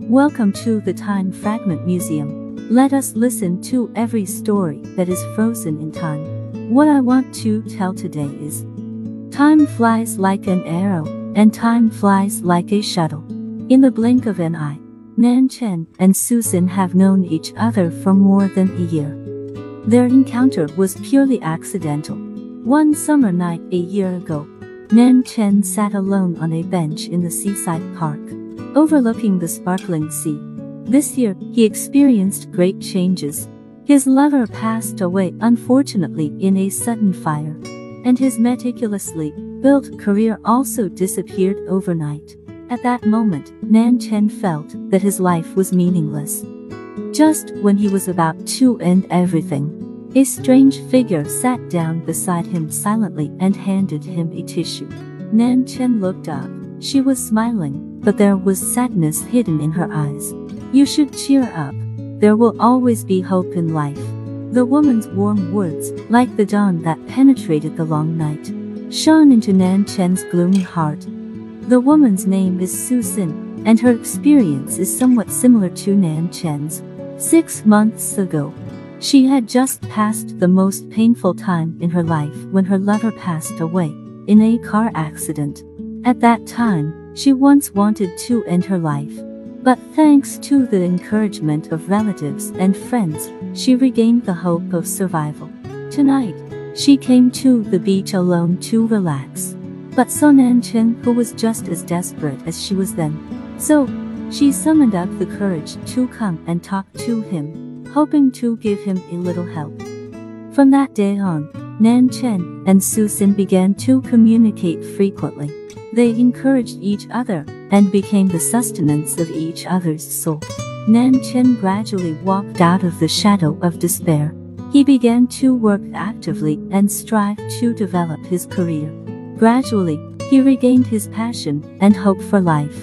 Welcome to the Time Fragment Museum. Let us listen to every story that is frozen in time. What I want to tell today is time flies like an arrow, and time flies like a shuttle. In the blink of an eye, Nan Chen and Susan have known each other for more than a year. Their encounter was purely accidental. One summer night a year ago, Nan Chen sat alone on a bench in the seaside park, overlooking the sparkling sea. This year, he experienced great changes. His lover passed away unfortunately in a sudden fire, and his meticulously built career also disappeared overnight. At that moment, Nan Chen felt that his life was meaningless. Just when he was about to end everything, a strange figure sat down beside him silently and handed him a tissue. Nan Chen looked up. She was smiling, but there was sadness hidden in her eyes. "You should cheer up. There will always be hope in life." The woman's warm words, like the dawn that penetrated the long night, shone into Nan Chen's gloomy heart. The woman's name is Susan, and her experience is somewhat similar to Nan Chen's. 6 months ago, she had just passed the most painful time in her life when her lover passed away in a car accident. At that time, she once wanted to end her life, but thanks to the encouragement of relatives and friends, she regained the hope of survival. Tonight, she came to the beach alone to relax, but saw Nan Chen, who was just as desperate as she was then. So, she summoned up the courage to come and talk to him, hoping to give him a little help. From that day on, Nan Chen and Susan began to communicate frequently. They encouraged each other and became the sustenance of each other's soul. Nan Chen gradually walked out of the shadow of despair. He began to work actively and strive to develop his career. Gradually, he regained his passion and hope for life.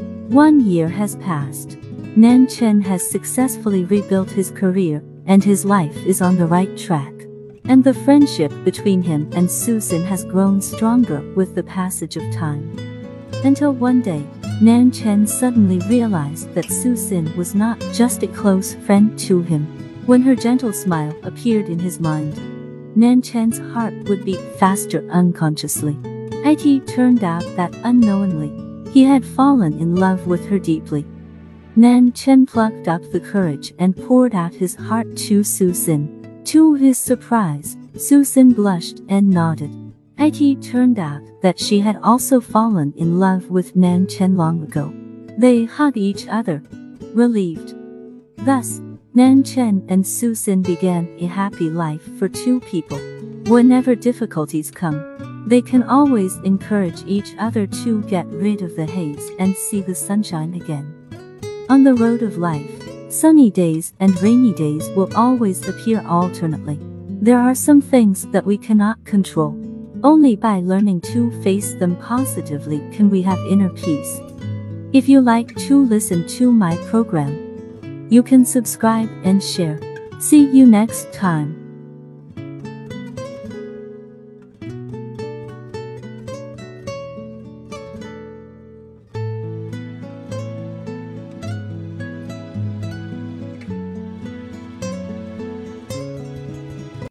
1 year has passed. Nan Chen has successfully rebuilt his career, and his life is on the right track. And the friendship between him and Susan has grown stronger with the passage of time. Until one day, Nan Chen suddenly realized that Susan was not just a close friend to him. When her gentle smile appeared in his mind, Nan Chen's heart would beat faster unconsciously. It turned out that unknowingly, he had fallen in love with her deeply. Nan Chen plucked up the courage and poured out his heart to Susan. To his surprise, Susan blushed and nodded. It turned out that she had also fallen in love with Nan Chen long ago. They hugged each other, relieved. Thus, Nan Chen and Susan began a happy life for two people. Whenever difficulties come, they can always encourage each other to get rid of the haze and see the sunshine again. On the road of life, sunny days and rainy days will always appear alternately. There are some things that we cannot control. Only by learning to face them positively can we have inner peace. If you like to listen to my program, you can subscribe and share. See you next time.